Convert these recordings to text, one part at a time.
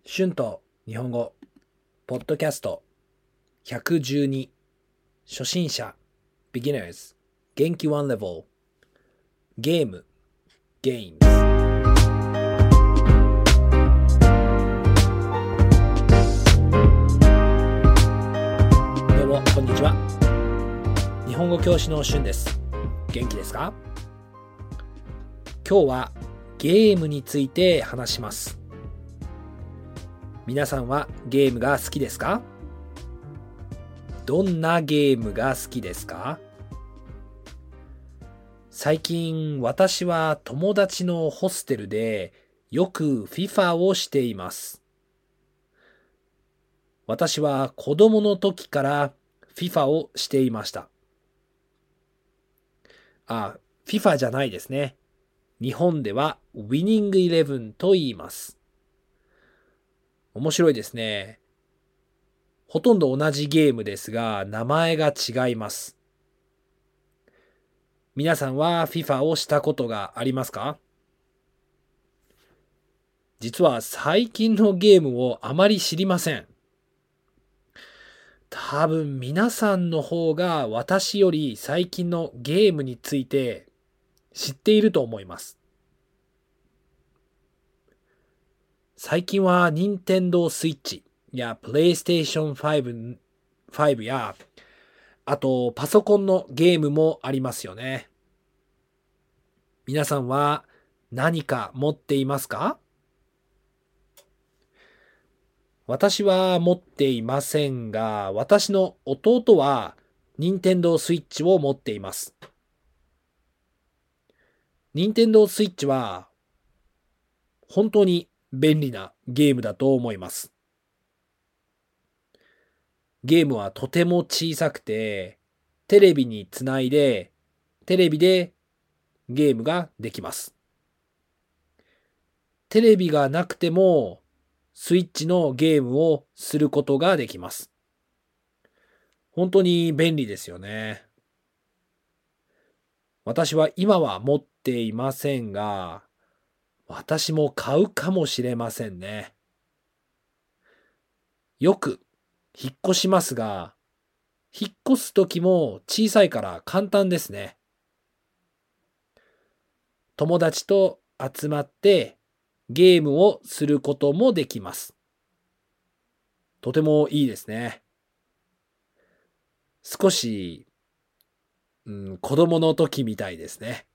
春と日本語ポッドキャスト112初心者 Beginners 元気1 level ゲーム Games。 どうもこんにちは。日本語教師の春です。元気ですか？今日はゲームについて話します。皆さんはゲームが好きですか？どんなゲームが好きですか？最近私は友達のホステルでよく FIFA をしています。私は子供の時から FIFA をしていました。FIFA じゃないですね。日本では Winning Eleven と言います。面白いですね。ほとんど同じゲームですが、名前が違います。皆さんは FIFA をしたことがありますか？実は最近のゲームをあまり知りません。多分皆さんの方が私より最近のゲームについて知っていると思います。最近は Nintendo Switch や PlayStation 5やあとパソコンのゲームもありますよね。皆さんは何か持っていますか？私は持っていませんが、私の弟は Nintendo Switch を持っています。Nintendo Switch は本当に便利なゲームだと思います。ゲームはとても小さくて、テレビにつないで、テレビでゲームができます。テレビがなくても、スイッチのゲームをすることができます。本当に便利ですよね。私は今は持っていませんが、私も買うかもしれませんね。よく引っ越しますが、引っ越すときも小さいから簡単ですね。友達と集まってゲームをすることもできます。とてもいいですね。少し、子供の時みたいですね。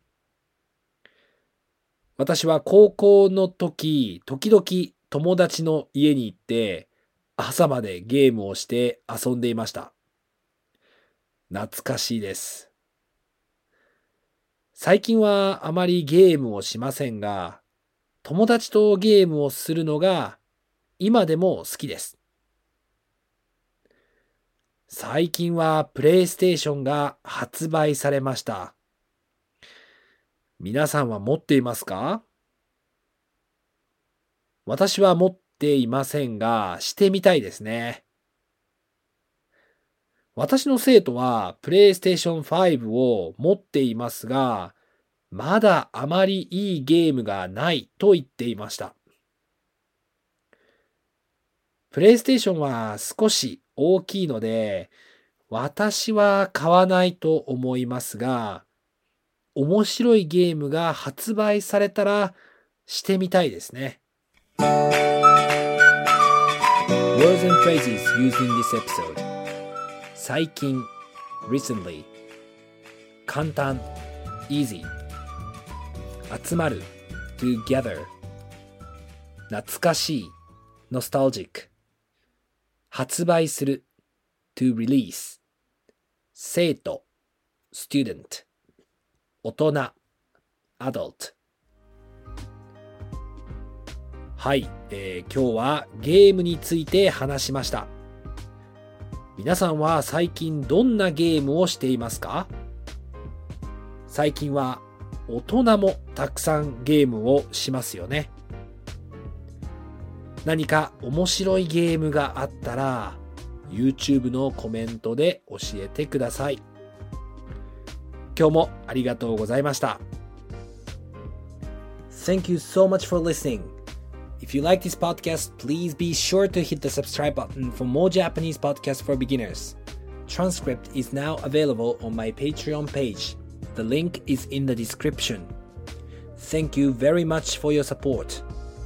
私は高校の時、時々友達の家に行って朝までゲームをして遊んでいました。懐かしいです。最近はあまりゲームをしませんが、友達とゲームをするのが今でも好きです。最近はプレイステーションが発売されました。皆さんは持っていますか？私は持っていませんが、してみたいですね。私の生徒はプレイステーション5を持っていますが、まだあまりいいゲームがないと言っていました。プレイステーションは少し大きいので、私は買わないと思いますが、面白いゲームが発売されたらしてみたいですね。Words and phrases used in this episode. 最近 recently 簡単 easy 集まる together 懐かしい nostalgic 発売する to release 生徒 student 大人 adult。 はい、今日はゲームについて話しました。皆さんは最近どんなゲームをしていますか？最近は大人もたくさんゲームをしますよね。何か面白いゲームがあったら YouTube のコメントで教えてください。今日もありがとうございました。Thank you so much for listening. If you like this podcast, please be sure to hit the subscribe button for more Japanese podcasts for beginners. Transcript is now available on my Patreon page. The link is in the description. Thank you very much for your support.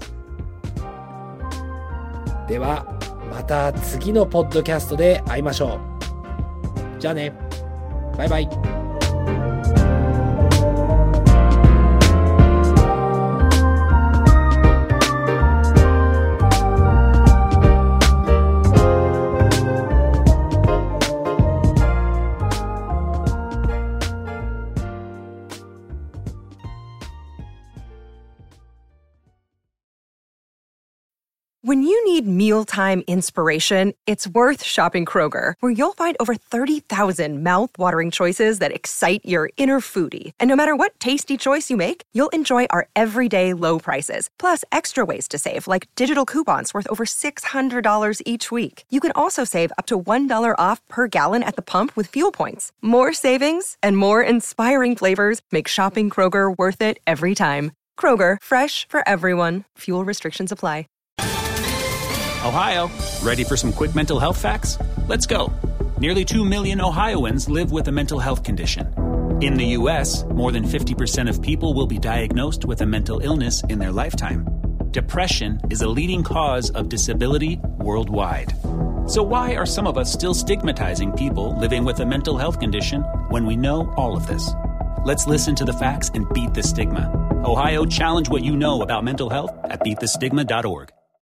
では、また次のポッドキャストで会いましょう。じゃあね。バイバイ。 When you need mealtime inspiration, it's worth shopping Kroger, where you'll find over 30,000 mouth-watering choices that excite your inner foodie. And no matter what tasty choice you make, you'll enjoy our everyday low prices, plus extra ways to save, like digital coupons worth over $600 each week. You can also save up to $1 off per gallon at the pump with fuel points. More savings and more inspiring flavors make shopping Kroger worth it every time. Kroger, fresh for everyone. Fuel restrictions apply. Ohio, ready for some quick mental health facts? Let's go. Nearly 2 million Ohioans live with a mental health condition. In the U.S., more than 50% of people will be diagnosed with a mental illness in their lifetime. Depression is a leading cause of disability worldwide. So why are some of us still stigmatizing people living with a mental health condition when we know all of this? Let's listen to the facts and beat the stigma. Ohio, challenge what you know about mental health at beatthestigma.org.